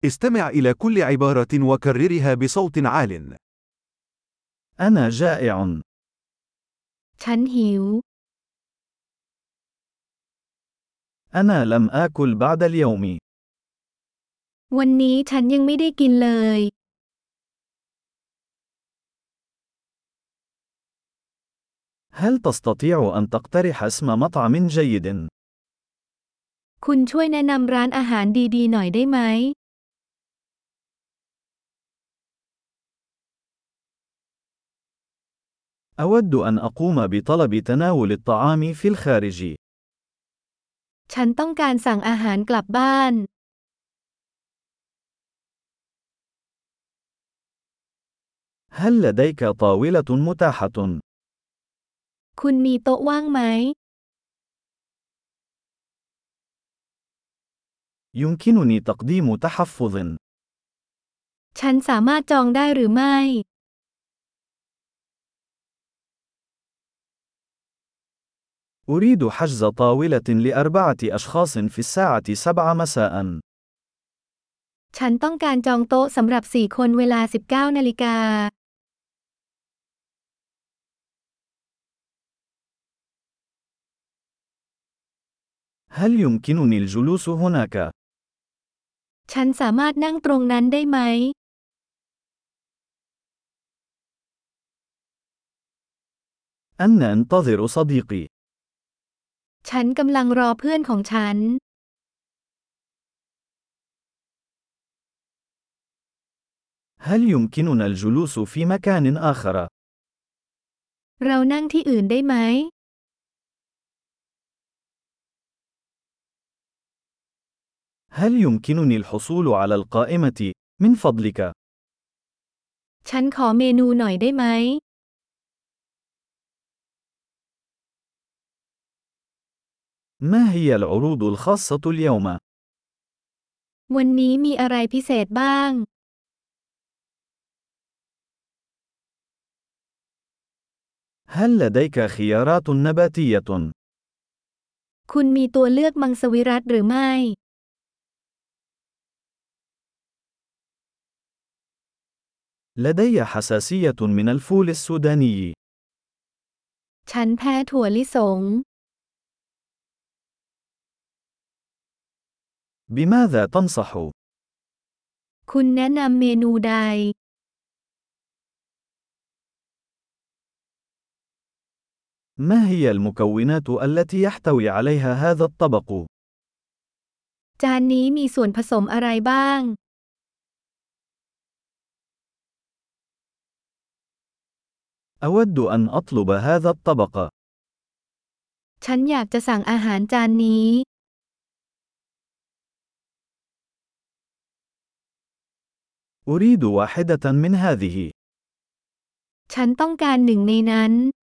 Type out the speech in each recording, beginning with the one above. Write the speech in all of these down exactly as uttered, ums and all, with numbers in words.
استمع إلى كل عبارة وكررها بصوت عال. أنا جائع. ฉันหิว أنا لم آكل بعد اليوم. วันนี้ฉันยังไม่ได้กินเลย هل تستطيع أن تقترح اسم مطعم جيد؟ คุณช่วยแนะนำร้านอาหารดีๆหน่อยได้ไหม أود أن أقوم بطلب تناول الطعام في الخارج. ฉันต้องการสั่งอาหารกลับบ้าน هل لديك طاولة متاحة؟ คุณมีโต๊ะว่างไหม يمكنني تقديم تحفظ. ฉันสามารถจองได้หรือไม่ أريد حجز طاولة لأربعة أشخاص في الساعة سبعة مساء. ฉันต้องการจองโต๊ะสำหรับสี่คนเวลา สิบเก้า นาฬิกา هل يمكنني الجلوس هناك؟ ฉันสามารถนั่งตรงนั้นได้ไหม أنا أنتظر صديقي. ฉันกำลังรอเพื่อนของฉัน هل يمكننا الجلوس في مكان آخر؟ เรานั่งที่อื่นได้ไหม هل يمكنني الحصول على القائمة، من فضلك؟ ฉันขอเมนูหน่อยได้ไหม ما هي العروض الخاصة اليوم؟ วันนี้มีอะไรพิเศษบ้าง هل لديك خيارات نباتية؟ คุณมีตัวเลือกมังสวิรัติหรือไม่ لدي حساسية من الفول السوداني. ฉันแพ้ถั่วลิสง بماذا تنصح؟ คุณแนะนำเมนูใด ما هي المكونات التي يحتوي عليها هذا الطبق؟ จานนี้มีส่วนผสมอะไรบ้าง أود أن أطلب هذا الطبق. ฉันอยากจะสั่งอาหารจานนี้ أريد واحدة من هذه. ฉันต้องการหนึ่งในนั้น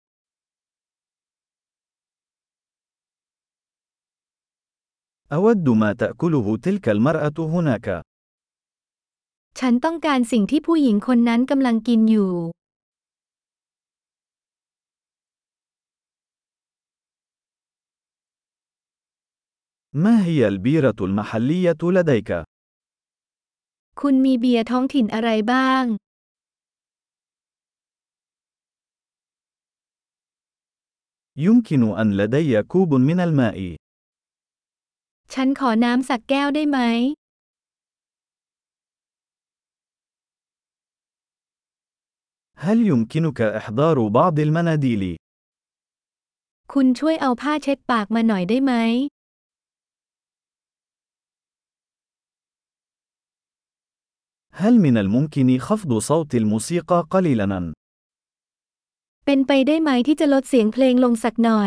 أود ما تأكله تلك المرأة هناك. ฉันต้องการสิ่งที่ผู้หญิงคนนั้นกำลังกินอยู่ ما هي البيرة المحلية لديك؟ คุณมีเบียร์ท้องถิ่นอะไรบ้าง يمكن أن لدي كوب من الماء. ฉันขอน้ำสักแก้วได้ไหม هل يمكنك إحضار بعض المناديل؟ คุณช่วยเอาผ้าเช็ดปากมาหน่อยได้ไหม هل من الممكن خفض صوت الموسيقى قليلاً؟ เป็นไปได้ไหมที่จะลดเสียงเพลงลงสักหน่อย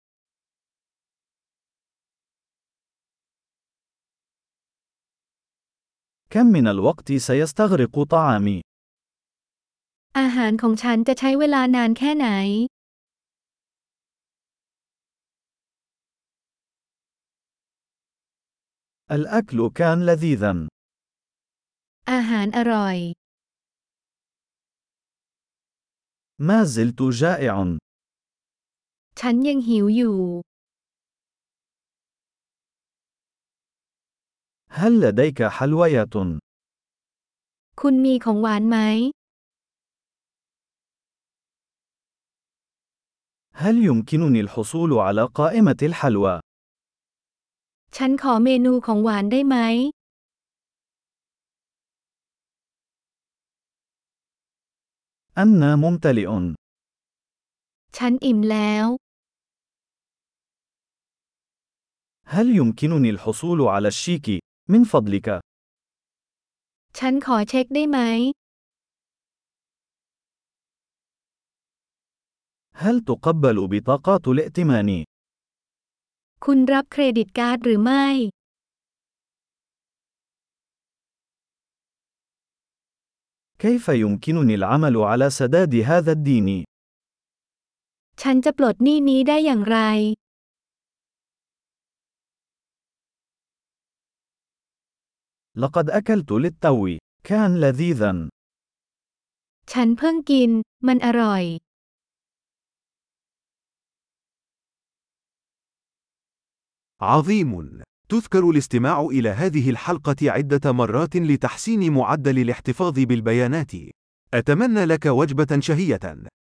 كم من الوقت سيستغرق طعامي؟ อาหารของฉันจะใช้เวลานานแค่ไหน الأكل كان لذيذاً. อาหารอร่อย ما زلت جائع. ฉันยังหิวอยู่ هل لديك حلويات؟ คุณมีของหวานไหม هل يمكنني الحصول على قائمة الحلوى؟ ฉันขอเมนูของหวานได้ไหม أنا ممتلئ. ฉันอิ่มแล้ว هل يمكنني الحصول على الشيك من فضلك؟ ฉันขอเช็คได้ไหม هل تقبل بطاقات الائتمان؟ คุณรับเครดิตการ์ดหรือไม่ كيف يمكنني العمل على سداد هذا الدين؟ ฉันจะปลดหนี้นี้ได้อย่างไร لقد أكلت للتو. كان لذيذا. ฉันเพิ่งกิน มันอร่อย عظيم. تذكر الاستماع إلى هذه الحلقة عدة مرات لتحسين معدل الاحتفاظ بالبيانات. أتمنى لك وجبة شهية.